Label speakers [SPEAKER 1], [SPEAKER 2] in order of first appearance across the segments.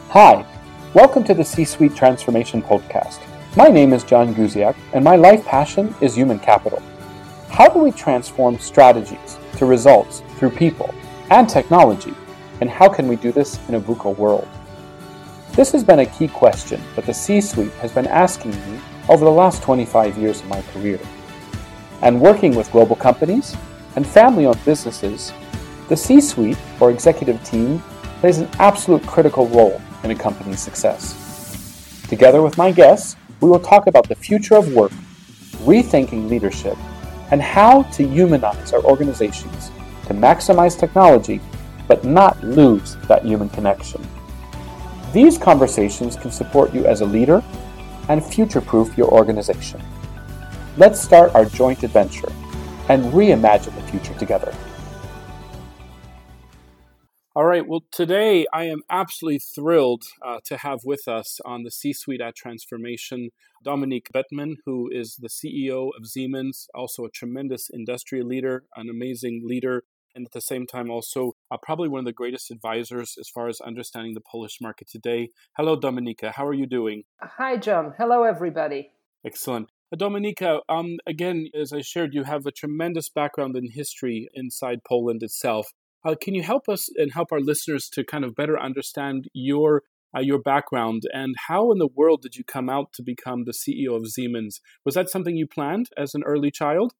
[SPEAKER 1] Hi, welcome to the C-Suite Transformation Podcast. My name is John Guziak, and my life passion is human capital. How do we transform strategies to results through people and technology, and how can we do this in a VUCA world? This has been a key question that the C-Suite has been asking me over the last 25 years of my career. And working with global companies and family-owned businesses, the C-Suite, or executive team, plays an absolute critical role in a company's success. Together with my guests, we will talk about the future of work, rethinking leadership, and how to humanize our organizations to maximize technology, but not lose that human connection. These conversations can support you as a leader and future-proof your organization. Let's start our joint adventure and reimagine the future together. All right, well, today I am absolutely thrilled to have with us on the C-Suite at Transformation, Dominique Bettmann, who is the CEO of Siemens, also a tremendous industry leader, an amazing leader, and at the same time also probably one of the greatest advisors as far as understanding the Polish market today. Hello, Dominika. How are you doing?
[SPEAKER 2] Hi, John. Hello, everybody.
[SPEAKER 1] Excellent. Dominika, again, as I shared, you have a tremendous background in history inside Poland itself. Can you help us and help our listeners to kind of better understand your background and how in the world did you come out to become the CEO of Siemens? Was that something you planned as an early child?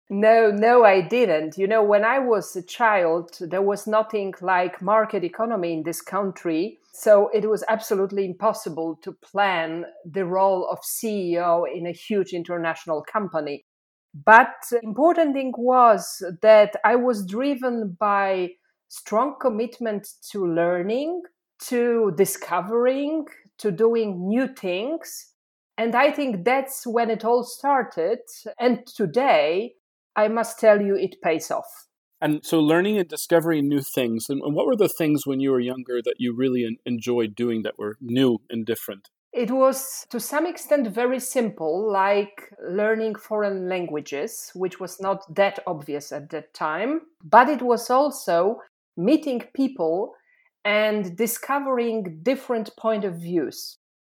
[SPEAKER 2] No, I didn't. You know, when I was a child, there was nothing like market economy in this country. So it was absolutely impossible to plan the role of CEO in a huge international company. But the important thing was that I was driven by strong commitment to learning, to discovering, to doing new things. And I think that's when it all started. And today, I must tell you, it pays off.
[SPEAKER 1] And so learning and discovering new things. And what were the things when you were younger that you really enjoyed doing that were new and different?
[SPEAKER 2] It was to some extent very simple, like learning foreign languages, which was not that obvious at that time. But it was also meeting people and discovering different point of views.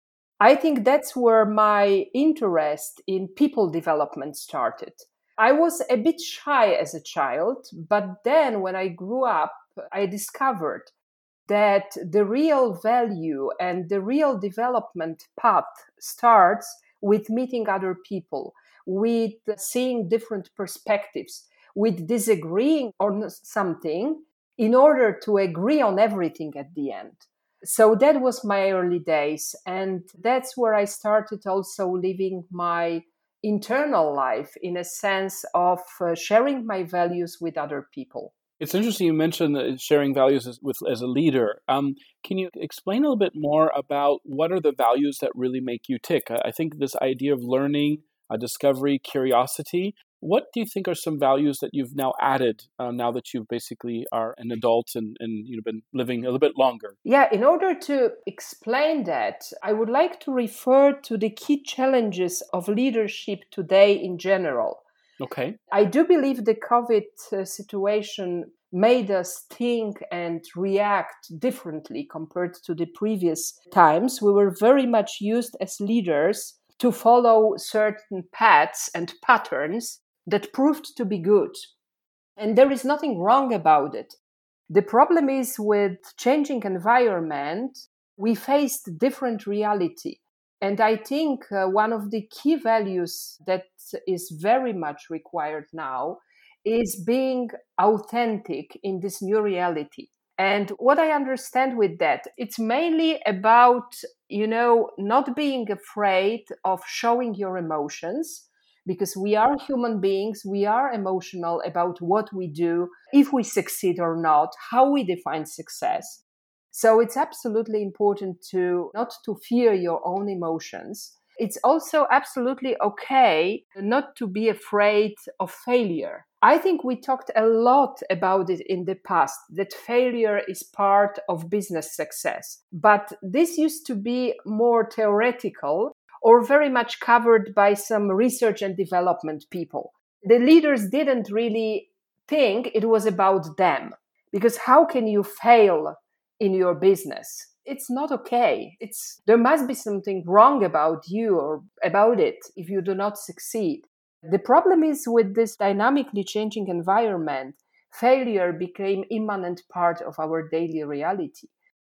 [SPEAKER 2] I think that's where my interest in people development started. I was a bit shy as a child, but then when I grew up, I discovered that the real value and the real development path starts with meeting other people, with seeing different perspectives, with disagreeing on something in order to agree on everything at the end. So that was my early days. And that's where I started also living my internal life in a sense of sharing my values with other people.
[SPEAKER 1] It's interesting you mentioned sharing values as a leader. Can you explain a little bit more about what are the values that really make you tick? I think this idea of learning, discovery, curiosity. What do you think are some values that you've now added now that you basically are an adult and you've been living a little bit longer?
[SPEAKER 2] Yeah, in order to explain that, I would like to refer to the key challenges of leadership today in general.
[SPEAKER 1] Okay.
[SPEAKER 2] I do believe the COVID situation made us think and react differently compared to the previous times. We were very much used as leaders to follow certain paths and patterns that proved to be good. And there is nothing wrong about it. The problem is with changing environment, we faced different reality. And I think one of the key values that is very much required now is being authentic in this new reality. And what I understand with that, it's mainly about, not being afraid of showing your emotions, because we are human beings, we are emotional about what we do, if we succeed or not, how we define success. So it's absolutely important to not to fear your own emotions. It's also absolutely okay not to be afraid of failure. I think we talked a lot about it in the past, that failure is part of business success. But this used to be more theoretical or very much covered by some research and development people. The leaders didn't really think it was about them, because how can you fail in your business it's not okay. There must be something wrong about you or about it if you do not succeed. The problem is with this dynamically changing environment, failure became immanent part of our daily reality.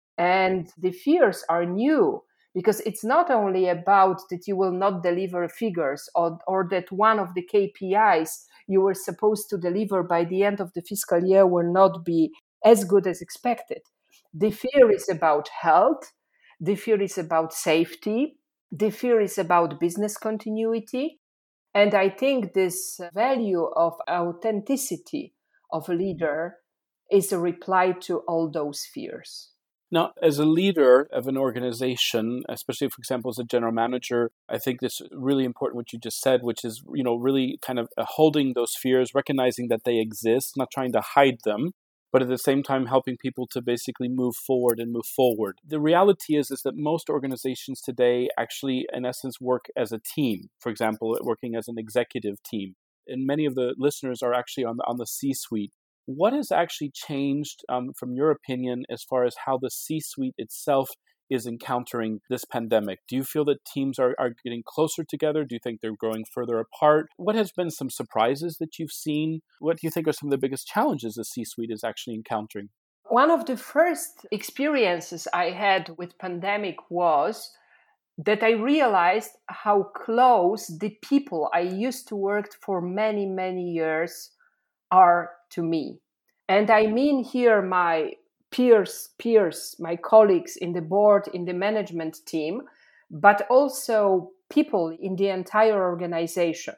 [SPEAKER 2] And the fears are new because it's not only about that you will not deliver figures or that one of the KPIs you were supposed to deliver by the end of the fiscal year will not be as good as expected. The fear is about health. The fear is about safety. The fear is about business continuity. And I think this value of authenticity of a leader is a reply to all those fears.
[SPEAKER 1] Now, as a leader of an organization, especially, for example, as a general manager, I think this is really important what you just said, which is, really kind of holding those fears, recognizing that they exist, not trying to hide them, but at the same time helping people to basically move forward and move forward. The reality is that most organizations today actually, in essence, work as a team. For example, working as an executive team. And many of the listeners are actually on the C-suite. What has actually changed, from your opinion, as far as how the C-suite itself is encountering this pandemic? Do you feel that teams are getting closer together? Do you think they're growing further apart? What has been some surprises that you've seen? What do you think are some of the biggest challenges the C-suite is actually encountering?
[SPEAKER 2] One of the first experiences I had with pandemic was that I realized how close the people I used to work for many, many years are to me. And I mean here my peers, my colleagues in the board, in the management team, but also people in the entire organization.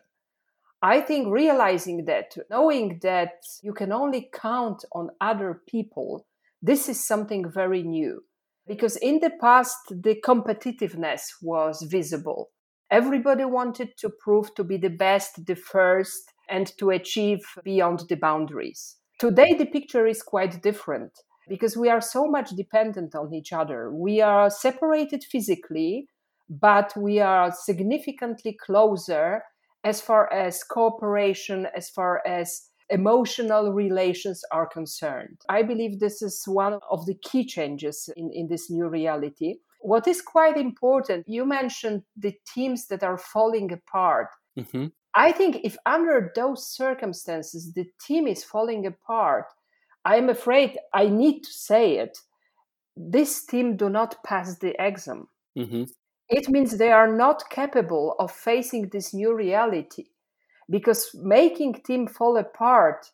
[SPEAKER 2] I think realizing that, knowing that you can only count on other people, this is something very new. Because in the past, the competitiveness was visible. Everybody wanted to prove to be the best, the first, and to achieve beyond the boundaries. Today, the picture is quite different because we are so much dependent on each other. We are separated physically, but we are significantly closer as far as cooperation, as far as emotional relations are concerned. I believe this is one of the key changes in this new reality. What is quite important, you mentioned the teams that are falling apart.
[SPEAKER 1] Mm-hmm.
[SPEAKER 2] I think if under those circumstances the team is falling apart, I am afraid I need to say it, this team do not pass the exam.
[SPEAKER 1] Mm-hmm.
[SPEAKER 2] It means they are not capable of facing this new reality. Because making team fall apart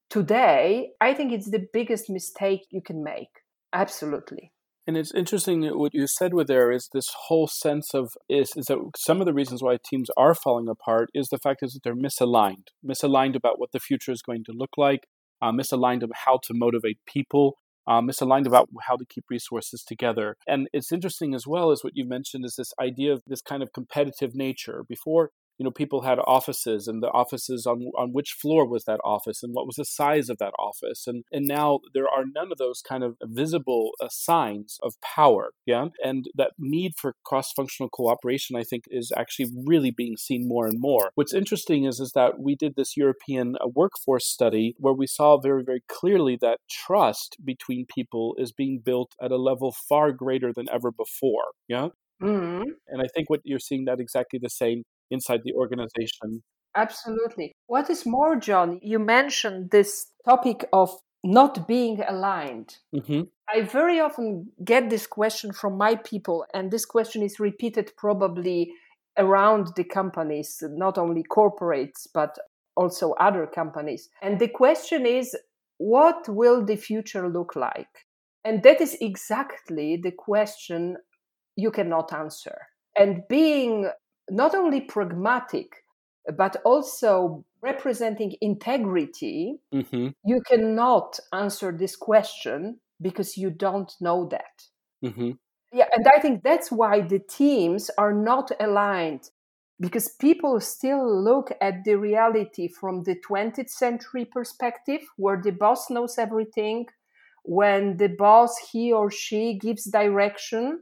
[SPEAKER 2] today, I think it's the biggest mistake you can make. Absolutely.
[SPEAKER 1] And it's interesting that what you said with there is this whole sense of is that some of the reasons why teams are falling apart is the fact is that they're misaligned about what the future is going to look like, misaligned about how to motivate people, misaligned about how to keep resources together. And it's interesting as well as what you mentioned is this idea of this kind of competitive nature. Before, people had offices, and the offices on which floor was that office and what was the size of that office. And now there are none of those kind of visible signs of power. Yeah. And that need for cross-functional cooperation, I think, is actually really being seen more and more. What's interesting is that we did this European workforce study where we saw very, very clearly that trust between people is being built at a level far greater than ever before. Yeah.
[SPEAKER 2] Mm-hmm.
[SPEAKER 1] And I think what you're seeing that exactly the same inside the organization.
[SPEAKER 2] Absolutely. What is more, John, you mentioned this topic of not being aligned.
[SPEAKER 1] Mm-hmm.
[SPEAKER 2] I very often get this question from my people, and this question is repeated probably around the companies, not only corporates, but also other companies. And the question is, what will the future look like? And that is exactly the question you cannot answer. And being not only pragmatic, but also representing integrity,
[SPEAKER 1] Mm-hmm.
[SPEAKER 2] you cannot answer this question because you don't know that.
[SPEAKER 1] Mm-hmm.
[SPEAKER 2] Yeah, and I think that's why the teams are not aligned, because people still look at the reality from the 20th century perspective, where the boss knows everything, when the boss, he or she, gives direction,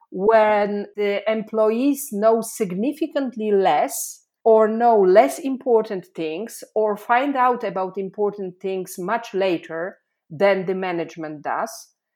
[SPEAKER 2] when the employees know significantly less or know less important things or find out about important things much later than the management does.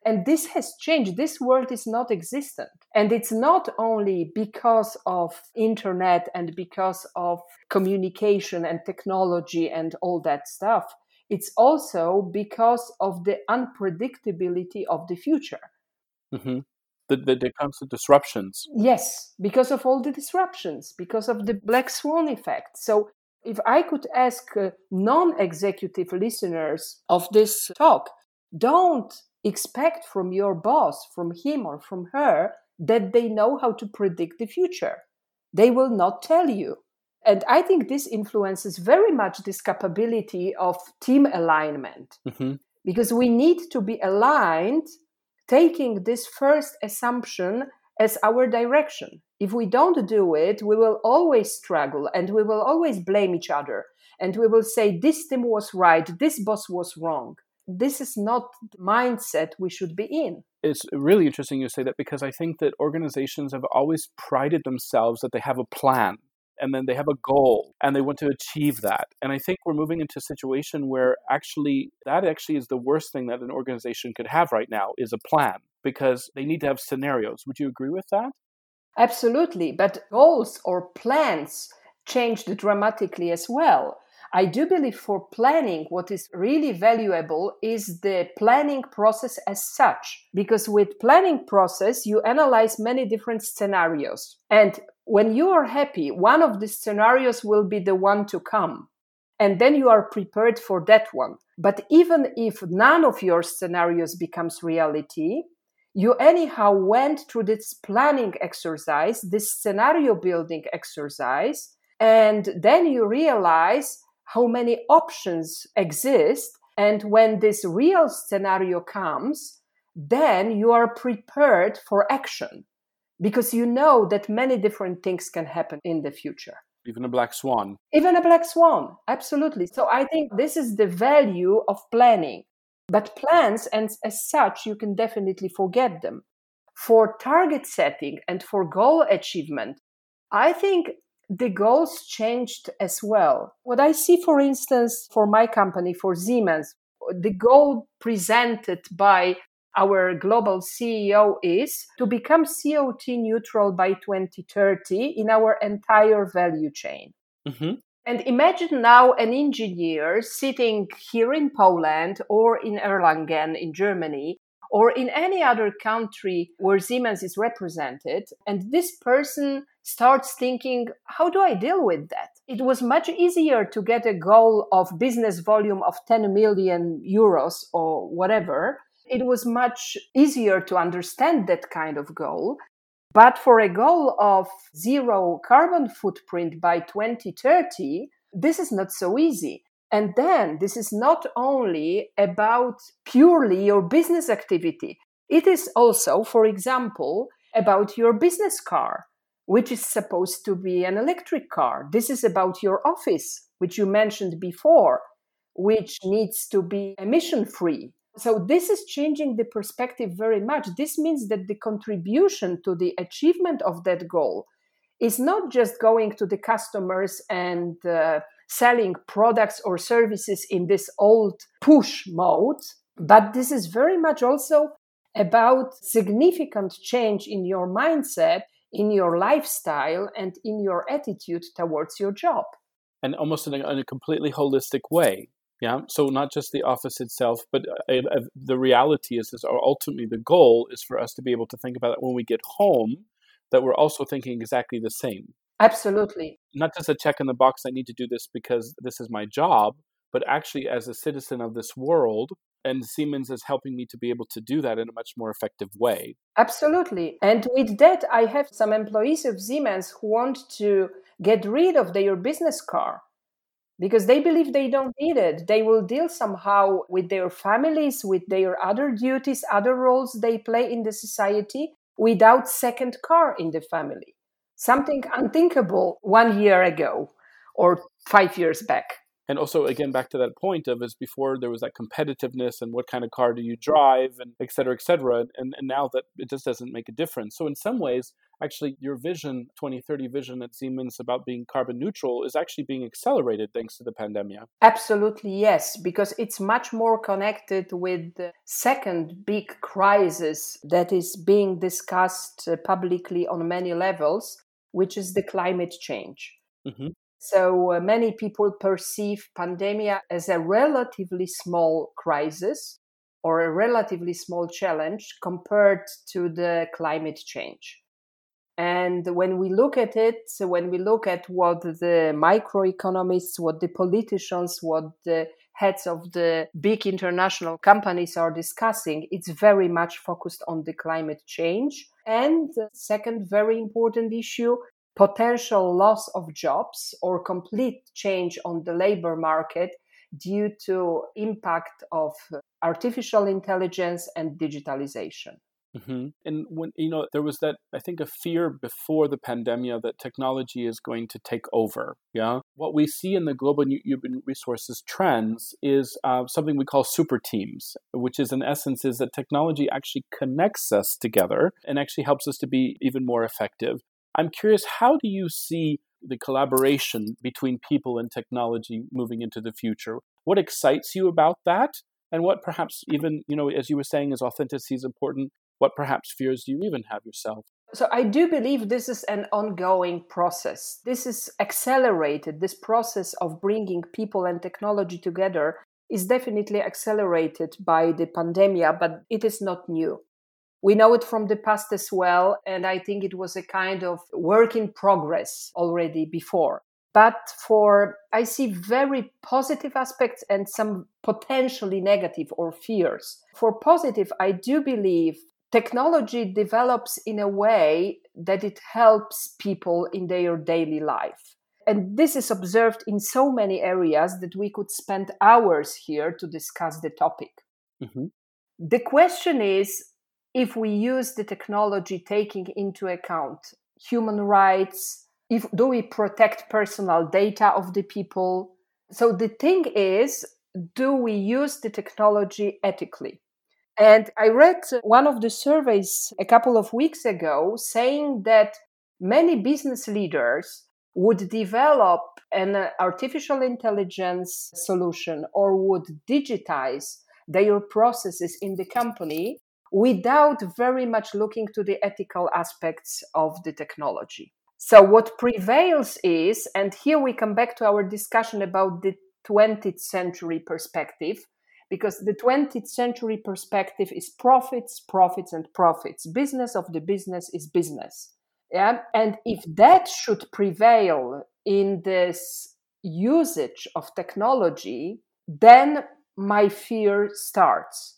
[SPEAKER 2] And this has changed. This world is not existent. And it's not only because of internet and because of communication and technology and all that stuff. It's also because of the unpredictability of the future.
[SPEAKER 1] Mm-hmm. The constant disruptions.
[SPEAKER 2] Yes, because of all the disruptions, because of the black swan effect. So if I could ask non-executive listeners of this talk, don't expect from your boss, from him or from her, that they know how to predict the future. They will not tell you. And I think this influences very much this capability of team alignment, because we need to be aligned, taking this first assumption as our direction. If we don't do it, we will always struggle and we will always blame each other. And we will say, this team was right, this boss was wrong. This is not the mindset we should be in.
[SPEAKER 1] It's really interesting you say that, because I think that organizations have always prided themselves that they have a plan and then they have a goal and they want to achieve that. And I think we're moving into a situation where that is the worst thing that an organization could have right now, is a plan, because they need to have scenarios. Would you agree with that?
[SPEAKER 2] Absolutely. But goals or plans changed dramatically as well. I do believe for planning, what is really valuable is the planning process as such, because with planning process, you analyze many different scenarios. And when you are happy, one of the scenarios will be the one to come. And then you are prepared for that one. But even if none of your scenarios becomes reality, you anyhow went through this planning exercise, this scenario building exercise, and then you realize how many options exist. And when this real scenario comes, then you are prepared for action, because you know that many different things can happen in the future.
[SPEAKER 1] Even a black swan.
[SPEAKER 2] Even a black swan, absolutely. So I think this is the value of planning. But plans, and as such, you can definitely forget them. For target setting and for goal achievement, I think the goals changed as well. What I see, for instance, for my company, for Siemens, the goal presented by our global CEO is to become CO2 neutral by 2030 in our entire value chain.
[SPEAKER 1] Mm-hmm.
[SPEAKER 2] And imagine now an engineer sitting here in Poland or in Erlangen in Germany or in any other country where Siemens is represented. And this person starts thinking, how do I deal with that? It was much easier to get a goal of business volume of 10 million euros or whatever. It was much easier to understand that kind of goal. But for a goal of zero carbon footprint by 2030, this is not so easy. And then this is not only about purely your business activity. It is also, for example, about your business car, which is supposed to be an electric car. This is about your office, which you mentioned before, which needs to be emission-free. So this is changing the perspective very much. This means that the contribution to the achievement of that goal is not just going to the customers and selling products or services in this old push mode, but this is very much also about significant change in your mindset, in your lifestyle, and in your attitude towards your job.
[SPEAKER 1] And almost in a completely holistic way. Yeah. So not just the office itself, but the reality is ultimately the goal is for us to be able to think about it when we get home, that we're also thinking exactly the same.
[SPEAKER 2] Absolutely.
[SPEAKER 1] Not just a check in the box, I need to do this because this is my job, but actually as a citizen of this world, and Siemens is helping me to be able to do that in a much more effective way.
[SPEAKER 2] Absolutely. And with that, I have some employees of Siemens who want to get rid of their business car because they believe they don't need it. They will deal somehow with their families, with their other duties, other roles they play in the society without second car in the family. Something unthinkable 1 year ago or 5 years back.
[SPEAKER 1] And also, again, back to that point of, as before there was that competitiveness and what kind of car do you drive and et cetera, et cetera. And now that it just doesn't make a difference. So in some ways, actually, your vision, 2030 vision at Siemens about being carbon neutral is actually being accelerated thanks to the pandemic.
[SPEAKER 2] Absolutely, yes, because it's much more connected with the second big crisis that is being discussed publicly on many levels, which is the climate change.
[SPEAKER 1] Mm-hmm.
[SPEAKER 2] So many people perceive pandemic as a relatively small crisis or a relatively small challenge compared to the climate change. And when we look at it, so when we look at what the microeconomists, what the politicians, what the heads of the big international companies are discussing, it's very much focused on the climate change. And the second very important issue, potential loss of jobs or complete change on the labor market due to impact of artificial intelligence and digitalization.
[SPEAKER 1] Mm-hmm. And when, there was that, I think, a fear before the pandemic that technology is going to take over. Yeah. What we see in the global human resources trends is something we call super teams, which is in essence is that technology actually connects us together and actually helps us to be even more effective. I'm curious, how do you see the collaboration between people and technology moving into the future? What excites you about that? And what perhaps even, as you were saying, is authenticity is important. What perhaps fears do you even have yourself?
[SPEAKER 2] So I do believe this is an ongoing process. This is accelerated. This process of bringing people and technology together is definitely accelerated by the pandemic, but it is not new. We know it from the past as well, and I think it was a kind of work in progress already before. But I see very positive aspects and some potentially negative or fears. For positive, I do believe technology develops in a way that it helps people in their daily life. And this is observed in so many areas that we could spend hours here to discuss the topic.
[SPEAKER 1] Mm-hmm.
[SPEAKER 2] The question is, if we use the technology taking into account human rights, do we protect personal data of the people? So the thing is, do we use the technology ethically? And I read one of the surveys a couple of weeks ago saying that many business leaders would develop an artificial intelligence solution or would digitize their processes in the company without very much looking to the ethical aspects of the technology. So what prevails is, and here we come back to our discussion about the 20th century perspective, because the 20th century perspective is profits, profits, and profits. Business of the business is business. Yeah? And if that should prevail in this usage of technology, then my fear starts.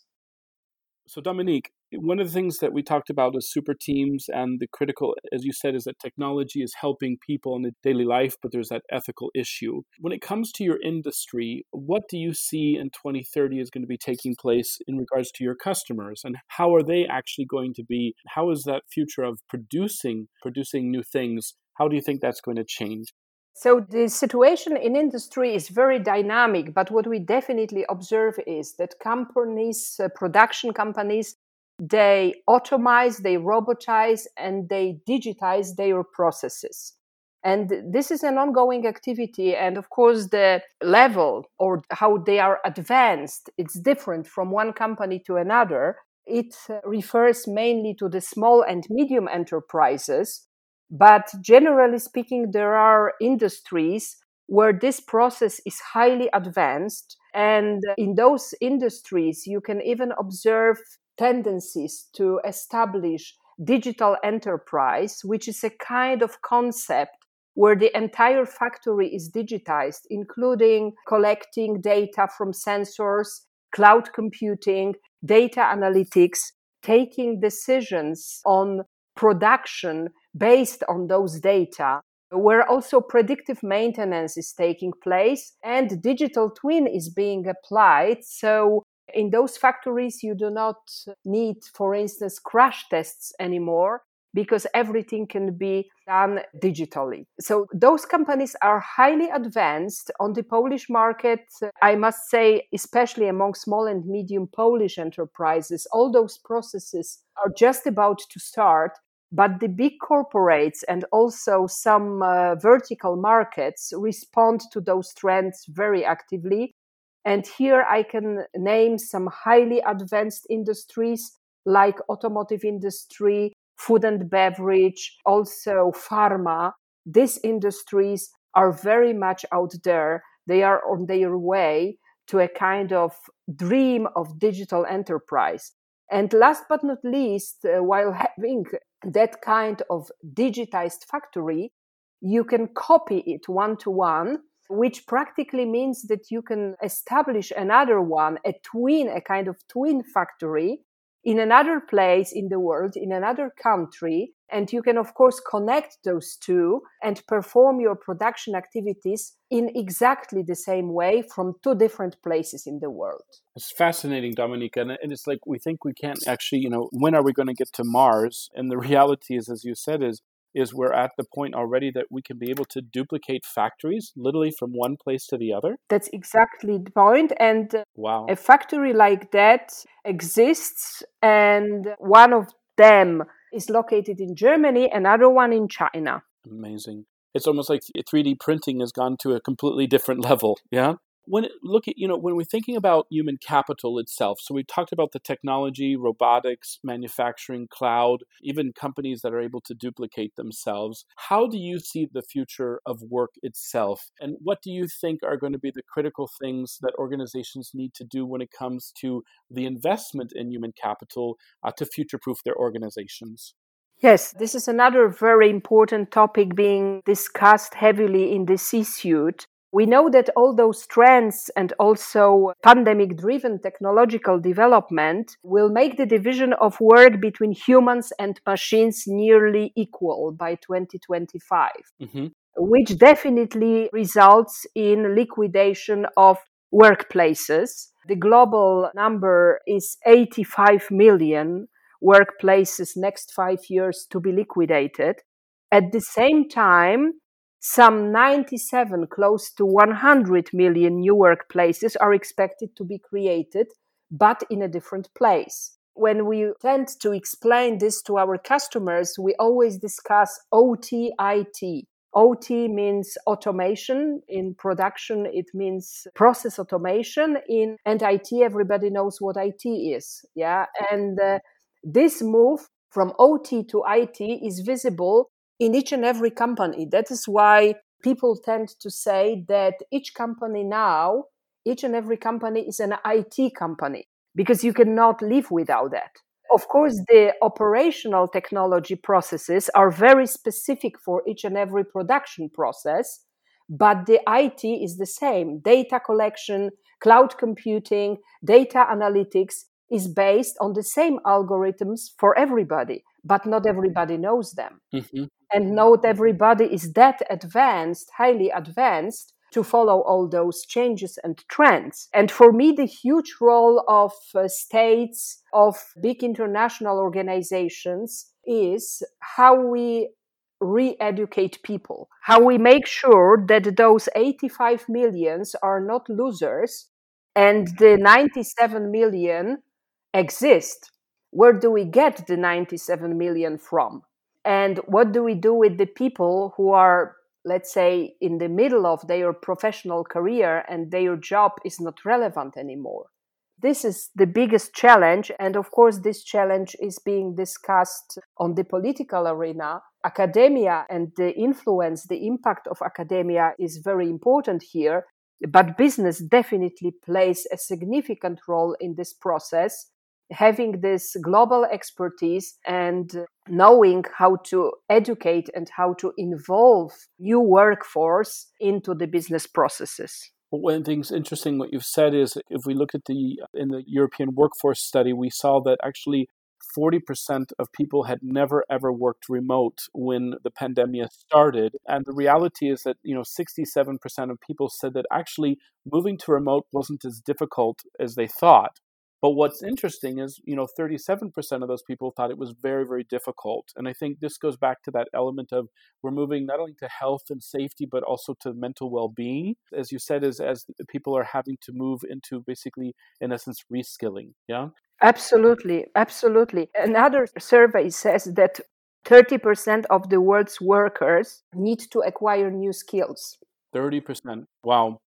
[SPEAKER 1] So, Dominique, one of the things that we talked about is super teams, and the critical, as you said, is that technology is helping people in the daily life, but there's that ethical issue. When it comes to your industry, what do you see in 2030 is going to be taking place in regards to your customers, and how are they actually going to be? How is that future of producing new things? How do you think that's going to change?
[SPEAKER 2] So the situation in industry is very dynamic, but what we definitely observe is that companies, production companies, they automize, they robotize, and they digitize their processes. And this is an ongoing activity. And of course, the level or how they are advanced, it's different from one company to another. It refers mainly to the small and medium enterprises. But generally speaking, there are industries where this process is highly advanced. And in those industries, you can even observe tendencies to establish digital enterprise, which is a kind of concept where the entire factory is digitized, including collecting data from sensors, cloud computing, data analytics, taking decisions on production based on those data, where also predictive maintenance is taking place and digital twin is being applied. So in those factories, you do not need, for instance, crash tests anymore. because everything can be done digitally. So those companies are highly advanced on the Polish market. I must say, especially among small and medium Polish enterprises, all those processes are just about to start. But the big corporates and also some vertical markets respond to those trends very actively. And here I can name some highly advanced industries like automotive industry, food and beverage, also pharma. These industries are very much out there. They are on their way to a kind of dream of digital enterprise. And last but not least, while having that kind of digitized factory, you can copy it one to one, which practically means that you can establish another one, a kind of twin factory in another place in the world, in another country. And you can, of course, connect those two and perform your production activities in exactly the same way from two different places in the world.
[SPEAKER 1] It's fascinating, Dominika. And it's like we think we can't actually, when are we going to get to Mars? And the reality is, as you said, is we're at the point already that we can be able to duplicate factories literally from one place to the other.
[SPEAKER 2] That's exactly the point. And
[SPEAKER 1] wow.
[SPEAKER 2] A factory like that exists, and one of them is located in Germany, another one in China.
[SPEAKER 1] Amazing. It's almost like 3D printing has gone to a completely different level. Yeah. When we're thinking about human capital itself, so we talked about the technology, robotics, manufacturing, cloud, even companies that are able to duplicate themselves. How do you see the future of work itself? And what do you think are going to be the critical things that organizations need to do when it comes to the investment in human capital to future-proof their organizations?
[SPEAKER 2] Yes, this is another very important topic being discussed heavily in the C-suite. We know that all those trends and also pandemic-driven technological development will make the division of work between humans and machines nearly equal by 2025, which definitely results in liquidation of workplaces. The global number is 85 million workplaces next 5 years to be liquidated. At the same time, some 97, close to 100 million new workplaces are expected to be created, but in a different place. When we tend to explain this to our customers, we always discuss OT, IT. OT means automation. In production, it means process automation. And IT, everybody knows what IT is. Yeah. And this move from OT to IT is visible in each and every company. That is why people tend to say that each and every company is an IT company, because you cannot live without that. Of course, the operational technology processes are very specific for each and every production process, but the IT is the same. Data collection, cloud computing, data analytics is based on the same algorithms for everybody, but not everybody knows them. And not everybody is that advanced, highly advanced, to follow all those changes and trends. And for me, the huge role of states, of big international organizations, is how we re-educate people, how we make sure that those 85 millions are not losers and the 97 million exist. Where do we get the 97 million from? And what do we do with the people who are, let's say, in the middle of their professional career and their job is not relevant anymore? This is the biggest challenge. And of course, this challenge is being discussed on the political arena. Academia and the influence, the impact of academia is very important here. But business definitely plays a significant role in this process. Having this global expertise and knowing how to educate and how to involve new workforce into the business processes.
[SPEAKER 1] Well, one thing's interesting what you've said is if we look at in the European workforce study, we saw that actually 40% of people had never ever worked remote when the pandemic started. And the reality is that, 67% of people said that actually moving to remote wasn't as difficult as they thought. But what's interesting is, 37% of those people thought it was very, very difficult. And I think this goes back to that element of we're moving not only to health and safety, but also to mental well-being. As you said, as people are having to move into basically, in essence, reskilling. Yeah.
[SPEAKER 2] Absolutely, absolutely. Another survey says that 30% of the world's workers need to acquire new skills.
[SPEAKER 1] 30%. Wow.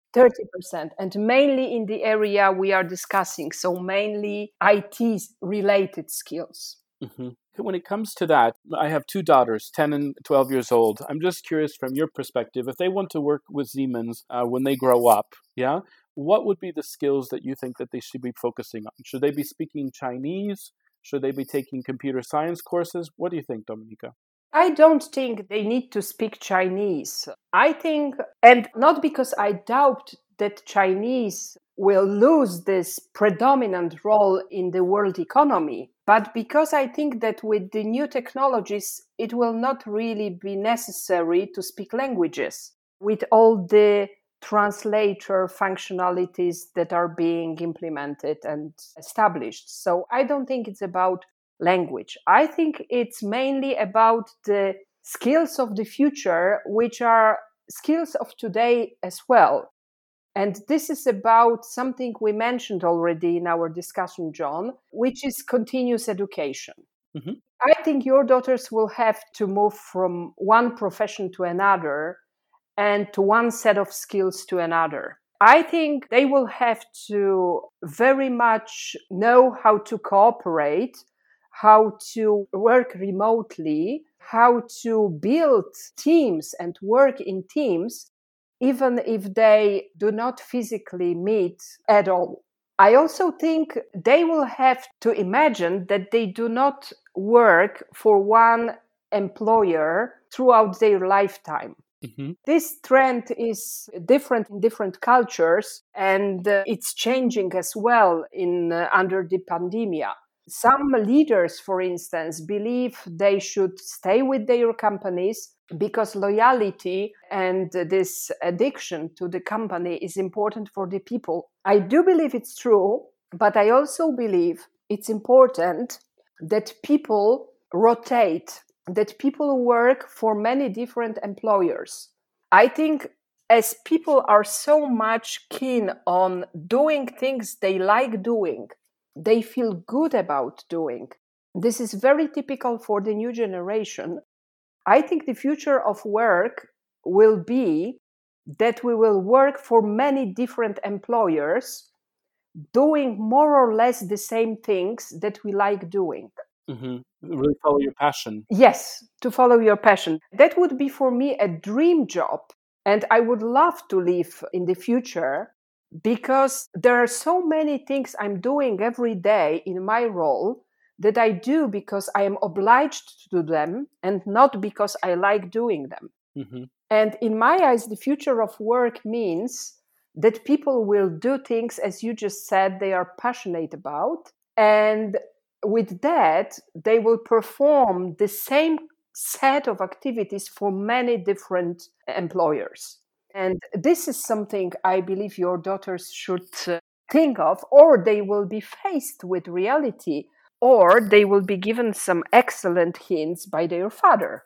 [SPEAKER 2] 30%, and mainly in the area we are discussing, so mainly IT related skills.
[SPEAKER 1] Mm-hmm. When it comes to that, I have two daughters, 10 and 12 years old. I'm just curious from your perspective, if they want to work with Siemens when they grow up, yeah, what would be the skills that you think that they should be focusing on? Should they be speaking Chinese? Should they be taking computer science courses? What do you think, Dominika?
[SPEAKER 2] I don't think they need to speak Chinese. I think, and not because I doubt that Chinese will lose this predominant role in the world economy, but because I think that with the new technologies, it will not really be necessary to speak languages with all the translator functionalities that are being implemented and established. So I don't think it's about language. I think it's mainly about the skills of the future, which are skills of today as well. And this is about something we mentioned already in our discussion, John, which is continuous education. Mm-hmm. I think your daughters will have to move from one profession to another and to one set of skills to another. I think they will have to very much know how to cooperate, how to work remotely, how to build teams and work in teams, even if they do not physically meet at all. I also think they will have to imagine that they do not work for one employer throughout their lifetime. Mm-hmm. This trend is different in different cultures, and it's changing as well under the pandemic. Some leaders, for instance, believe they should stay with their companies because loyalty and this addiction to the company is important for the people. I do believe it's true, but I also believe it's important that people rotate, that people work for many different employers. I think as people are so much keen on doing things they like doing, they feel good about doing. This is very typical for the new generation. I think the future of work will be that we will work for many different employers doing more or less the same things that we like doing.
[SPEAKER 1] Mm-hmm. Really follow your passion.
[SPEAKER 2] Yes, to follow your passion. That would be for me a dream job. And I would love to live in the future because there are so many things I'm doing every day in my role that I do because I am obliged to do them and not because I like doing them. Mm-hmm. And in my eyes, the future of work means that people will do things, as you just said, they are passionate about. And with that, they will perform the same set of activities for many different employers. And this is something I believe your daughters should think of, or they will be faced with reality, or they will be given some excellent hints by their father.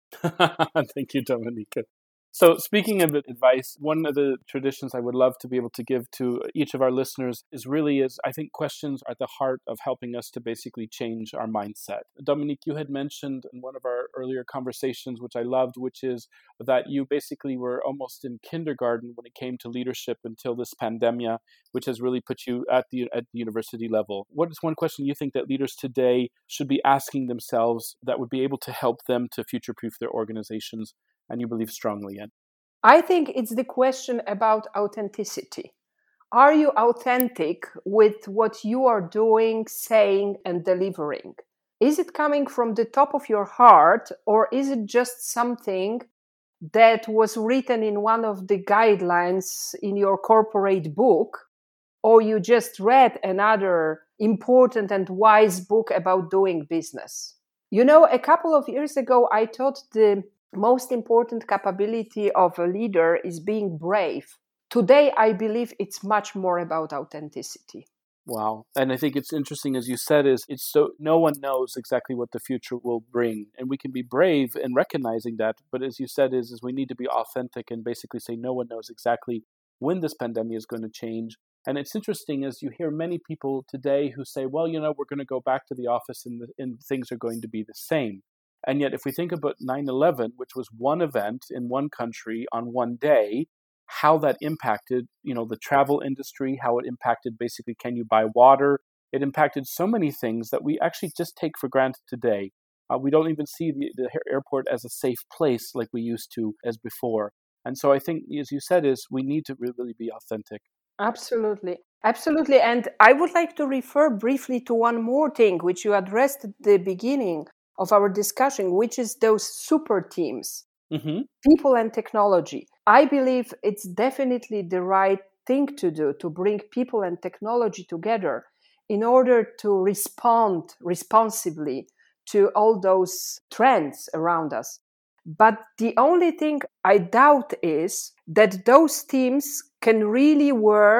[SPEAKER 1] Thank you, Dominika. So speaking of advice, one of the traditions I would love to be able to give to each of our listeners is I think questions are at the heart of helping us to basically change our mindset. Dominique, you had mentioned in one of our earlier conversations, which I loved, which is that you basically were almost in kindergarten when it came to leadership until this pandemic, which has really put you at the university level. What is one question you think that leaders today should be asking themselves that would be able to help them to future-proof their organizations and you believe strongly in?
[SPEAKER 2] I think it's the question about authenticity. Are you authentic with what you are doing, saying, and delivering? Is it coming from the top of your heart, or is it just something that was written in one of the guidelines in your corporate book, or you just read another important and wise book about doing business? You know, a couple of years ago, I thought the most important capability of a leader is being brave. Today, I believe it's much more about authenticity.
[SPEAKER 1] Wow. And I think it's interesting, as you said, is it's so no one knows exactly what the future will bring. And we can be brave in recognizing that. But as you said, is we need to be authentic and basically say no one knows exactly when this pandemic is going to change. And it's interesting as you hear many people today who say, well, we're going to go back to the office and things are going to be the same. And yet, if we think about 9/11, which was one event in one country on one day, how that impacted, the travel industry, how it impacted basically, can you buy water? It impacted so many things that we actually just take for granted today. We don't even see the airport as a safe place like we used to as before. And so I think, as you said, is we need to really be authentic.
[SPEAKER 2] Absolutely. Absolutely. And I would like to refer briefly to one more thing, which you addressed at the beginning of our discussion, which is those super teams, people and technology. I believe it's definitely the right thing to do, to bring people and technology together in order to respond responsibly to all those trends around us. But the only thing I doubt is that those teams can really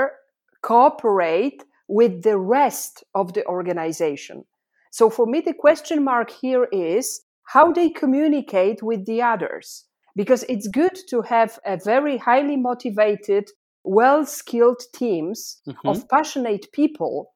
[SPEAKER 2] cooperate with the rest of the organization. So for me, the question mark here is how they communicate with the others. Because it's good to have a very highly motivated, well-skilled teams of passionate people,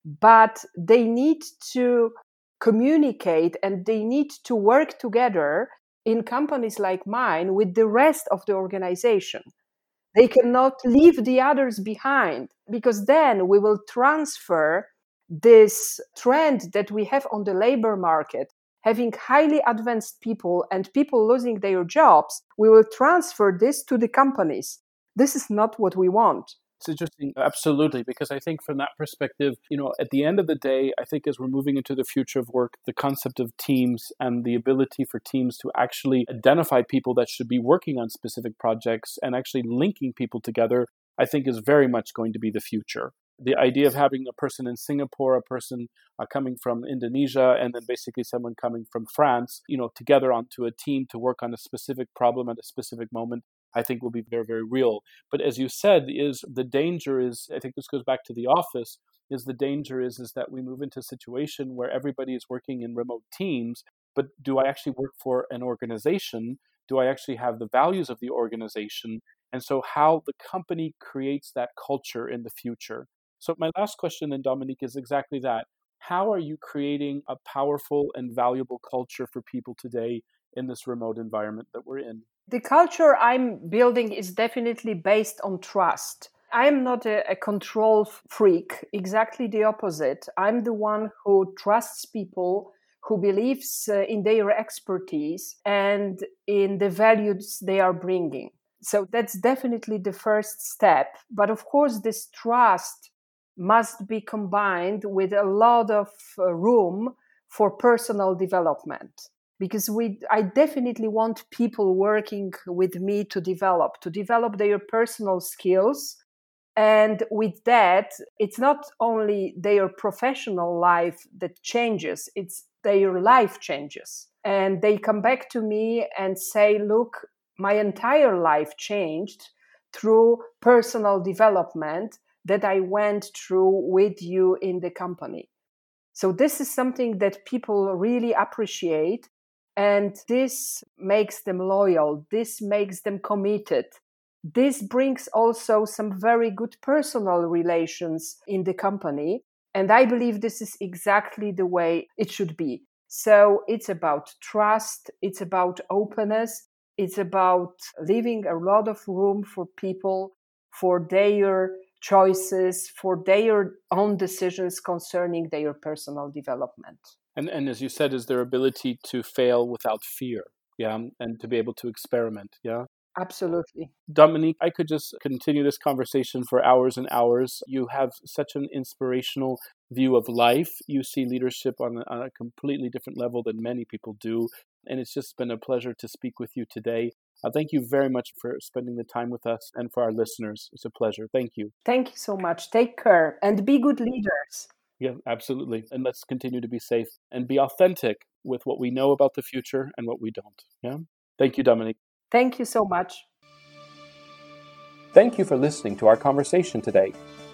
[SPEAKER 2] but they need to communicate and they need to work together in companies like mine with the rest of the organization. They cannot leave the others behind, because then we will transfer this trend that we have on the labor market, having highly advanced people and people losing their jobs. We will transfer this to the companies. This is not what we want.
[SPEAKER 1] It's interesting, absolutely, because I think from that perspective, at the end of the day, I think as we're moving into the future of work, the concept of teams and the ability for teams to actually identify people that should be working on specific projects and actually linking people together, I think is very much going to be the future. The idea of having a person in Singapore, a person coming from Indonesia, and then basically someone coming from France, together onto a team to work on a specific problem at a specific moment, I think will be very, very real. But as you said, the danger is, I think this goes back to the office, is that we move into a situation where everybody is working in remote teams, but do I actually work for an organization? Do I actually have the values of the organization? And so how the company creates that culture in the future. So my last question then, Dominique, is exactly that. How are you creating a powerful and valuable culture for people today in this remote environment that we're in?
[SPEAKER 2] The culture I'm building is definitely based on trust. I am not a control freak, exactly the opposite. I'm the one who trusts people, who believes in their expertise and in the values they are bringing. So that's definitely the first step. But of course, this trust must be combined with a lot of room for personal development. Because I definitely want people working with me to develop their personal skills. And with that, it's not only their professional life that changes, it's their life changes. And they come back to me and say, look, my entire life changed through personal development that I went through with you in the company. So this is something that people really appreciate. And this makes them loyal. This makes them committed. This brings also some very good personal relations in the company. And I believe this is exactly the way it should be. So it's about trust. It's about openness. It's about leaving a lot of room for people, for their choices, for their own decisions concerning their personal development.
[SPEAKER 1] And as you said, is their ability to fail without fear, and to be able to experiment,
[SPEAKER 2] Absolutely.
[SPEAKER 1] Dominique, I could just continue this conversation for hours and hours. You have such an inspirational view of life. You see leadership on a completely different level than many people do. And it's just been a pleasure to speak with you today. Thank you very much for spending the time with us, and for our listeners. It's a pleasure. Thank you.
[SPEAKER 2] Thank you so much. Take care and be good leaders.
[SPEAKER 1] Yeah, absolutely. And let's continue to be safe and be authentic with what we know about the future and what we don't. Yeah. Thank you, Dominique.
[SPEAKER 2] Thank you so much.
[SPEAKER 1] Thank you for listening to our conversation today.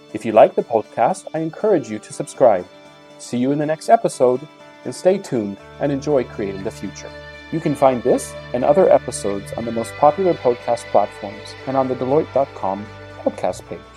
[SPEAKER 1] If you like the podcast, I encourage you to subscribe. See you in the next episode, and stay tuned and enjoy creating the future. You can find this and other episodes on the most popular podcast platforms and on the Deloitte.com podcast page.